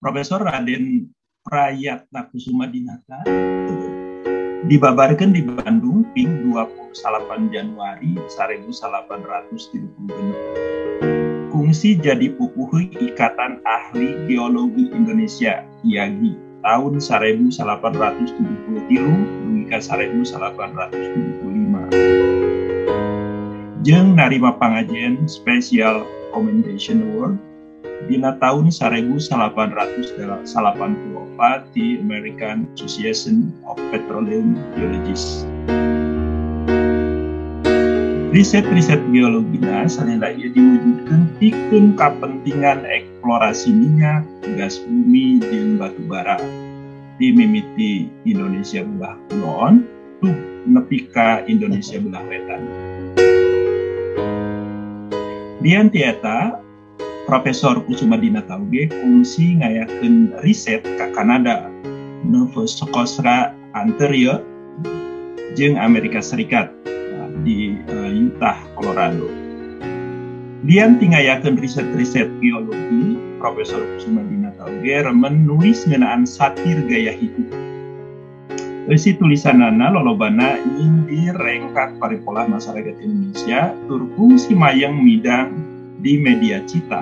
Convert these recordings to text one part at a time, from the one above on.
Profesor Raden Prayatna Kusuma Dinata dibabarkan di Bandung ping 28 Januari 1836. Kungsi jadi pupuh Ikatan Ahli Geologi Indonesia IAGI tahun 1873 hingga 1875. Jeung narima pangajian Special Commendation Award dina tahun 1884 di American Association of Petroleum Geologists. Riset-riset geologina salila ieu diwujudkeun pikeun kapentingan eksplorasi minyak, gas bumi, jeung batu bara di mimiti Indonesia belah kulon tuh nepi ka Indonesia belah wetan. Dian tieta Profesor Kusuma Dinata oge kungsi ngayakeun riset ka Kanada, Nova Scotia Ontario, jeung Amerika Serikat di Utah, Colorado. Dian tingayakeun riset-riset geologi, Profesor Kusuma Dinata oge remen nulis ngeunaan satir gaya hidup. Eusi tulisanana lolobana ing direngkat paripolah masyarakat Indonesia tur kungsi mayeng midang di media cita.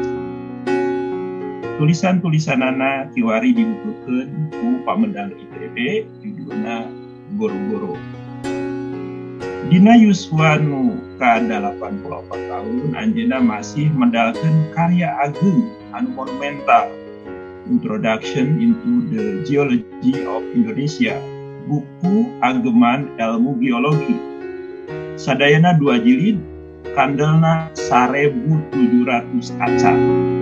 Tulisan-tulisanana kiwari dibutuhkeun ku pamedal ITB judulna Goro-Goro. Dina yuswa nu ka-84 tahun anjeunna masih medalkeun karya ageung anu monumental Introduction into the Geology of Indonesia, buku ageman ilmu geologi. Sadayana 2 jilid, kandelna 1.700 kaca.